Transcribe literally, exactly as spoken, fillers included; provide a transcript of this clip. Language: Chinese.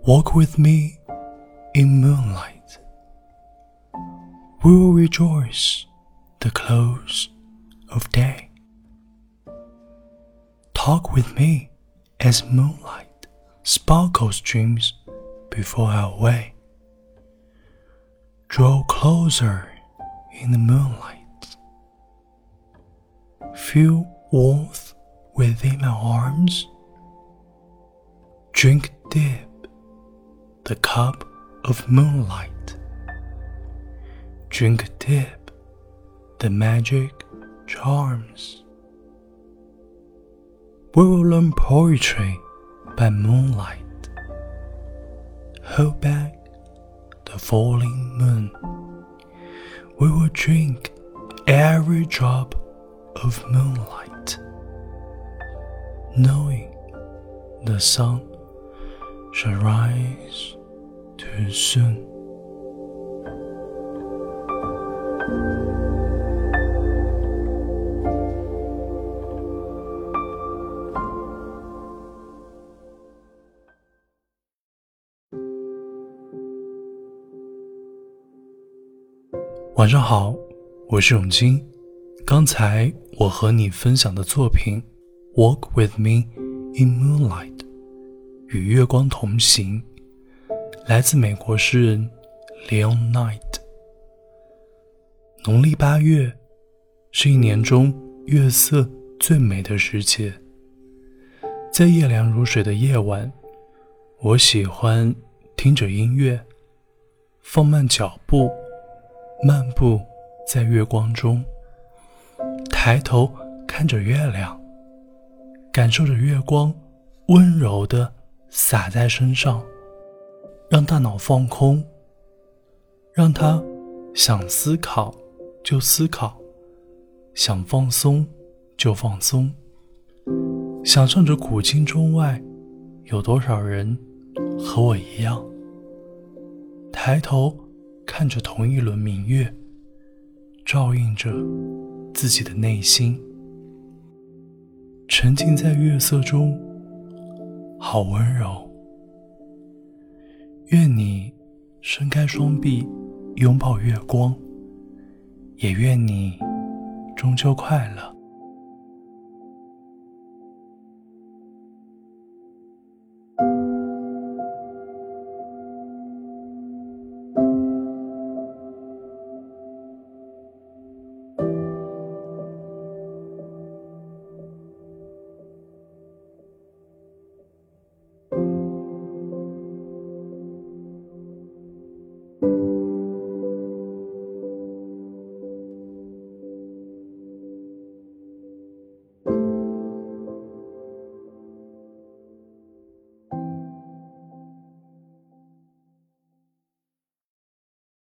Walk with me in moonlight. We will rejoice the close of day. Talk with me as moonlight sparkles dreams before our way. Draw closer in the moonlight. Feel warmth within my arms. Drink deep the cup of moonlight. Drink deep the magic charms. We will learn poetry by moonlight. Hold back the falling moon. We will drink every drop of moonlight, knowing the sun shall rise too soon. 晚上好，我是永金。刚才我和你分享的作品 Walk with me in moonlight 与月光同行，来自美国诗人 Leon Knight。 农历八月是一年中月色最美的时节，在夜凉如水的夜晚，我喜欢听着音乐，放慢脚步，漫步在月光中，抬头看着月亮，感受着月光温柔地洒在身上，让大脑放空，让它想思考就思考，想放松就放松。想象着古今中外有多少人和我一样，抬头看着同一轮明月，照映着自己的内心，沉浸在月色中，好温柔。愿你伸开双臂拥抱月光，也愿你终究快乐。